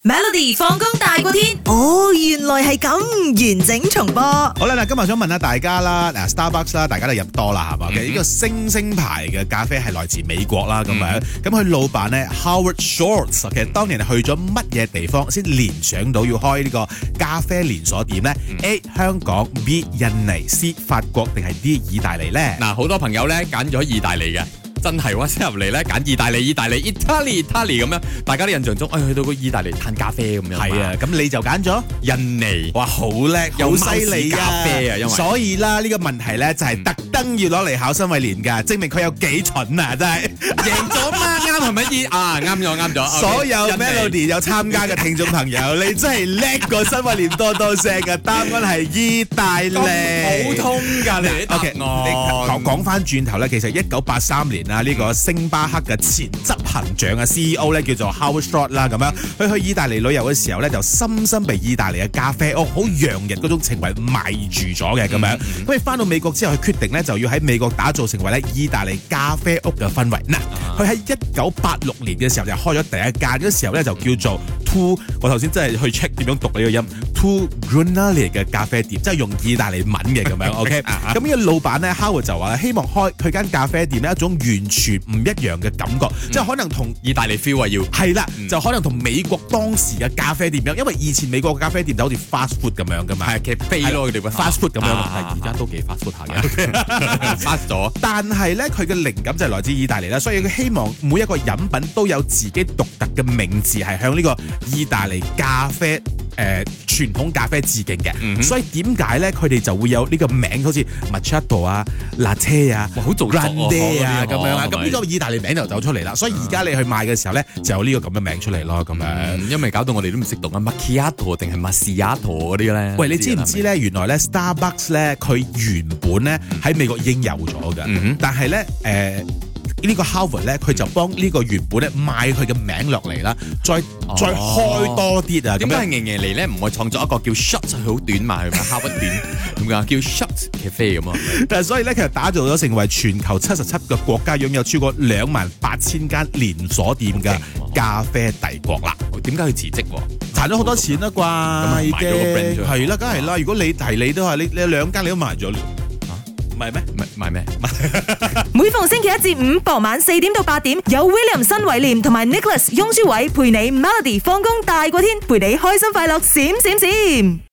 Melody 放工大過天， 哦，原來係咁，完整重播。 好啦，嗱，今日想問下大家啦，嗱 Starbucks 啦，大家都飲多啦，係嘛？呢個星星牌嘅咖啡係來自美國啦，咁樣，咁佢老闆咧 Howard Schultz，其實當年去咗乜嘢地方先聯想到要開呢個咖啡連鎖店咧？A 香港 ，B 印尼，C 法國定係 D 意大利咧？ 嗱，好多朋友咧揀咗意大利嘅。真係喎，先入嚟咧揀意大利 Italy 咁樣，大家啲印象中，去到個意大利嘆咖啡咁樣。 係啊，咁你就揀咗印尼， 哇，好叻，好犀利咖啡啊！因為所以啦，呢個問題咧就係特登要攞嚟考新慧蓮㗎，證明佢有幾蠢啊！真係贏咗嘛，啱係咪啱咗。 所有 Melody 有參加嘅聽眾朋友，你真係叻過新慧蓮多聲嘅，答案係意大利。 普通㗎你啲答案。 講翻轉頭咧，其實1983年啦，呢個星巴克嘅前執行長嘅 CEO 咧叫做 Howard Schultz 啦，咁樣佢去意大利旅遊嘅時候咧，就深深被意大利嘅咖啡屋好洋溢嗰種情懷迷住咗嘅咁樣。咁佢翻到美國之後，佢決定咧就要喺美國打造成為咧意大利咖啡屋嘅氛圍。嗱，佢喺1986年嘅時候就開咗第一間，嗰時候咧就叫做 Two， 我頭先真係去 check 點樣讀呢個音 Two Granelli 嘅咖啡店，即係用意大利文嘅咁樣。OK， 咁呢個老闆咧 Howard 就話希望開佢間咖啡店咧一種完全唔一樣嘅感覺，即係可能同意大利 feel 啊要係啦，就可能同美國當時嘅咖啡店一樣，因為以前美國嘅咖啡店就好似 fast food 咁樣噶嘛， 係其實飛咯佢哋 fast food 咁樣， 但係而家都幾 fast food 下嘅，fast 咗。 但係咧佢嘅靈感就係來自意大利啦，所以佢希望每一個飲品都有自己獨特嘅名字，係向呢個意大利咖啡傳統咖啡致敬嘅。所以點解咧佢哋就會有呢個名，好似 Macchiato 啊、Latte 啊、 好做作 Grande 啊咁樣啦，咁呢個意大利名就走出嚟啦。所以而家你去賣嘅時候咧，就有呢個咁嘅名出嚟咯，咁樣。 因為搞到我哋都唔識讀啊 Macchiato 定係 Macchiato 嗰啲咧。 喂，你知唔知咧？原來咧 Starbucks 咧，佢原本咧喺美國已經有咗嘅，但係咧呢個 Howard 咧，佢就幫呢個原本咧買佢嘅名落嚟啦，再開多啲啊！ 點解係贏嚟咧？唔會創作一個叫 Shot 佢好短嘛，佢咪 Howard 短點解叫 Shot Cafe 咁啊？ 但係所以咧，其實打造咗成為全球77個國家擁有超過28,000間連鎖店嘅咖啡帝國啦。 點解佢辭職？ 賺咗好多錢啦啩？ 咁賣咗個 brand 咗。 係啦，梗係啦。如果你都係你兩間你都賣咗啦。唔係咩？ 賣咩？ 每逢星期一至五傍晚4點到8點，有 William 新偉廉同埋 Nicholas 雍舒偉陪你 Melody 放工大過天，陪你開心快樂閃閃閃。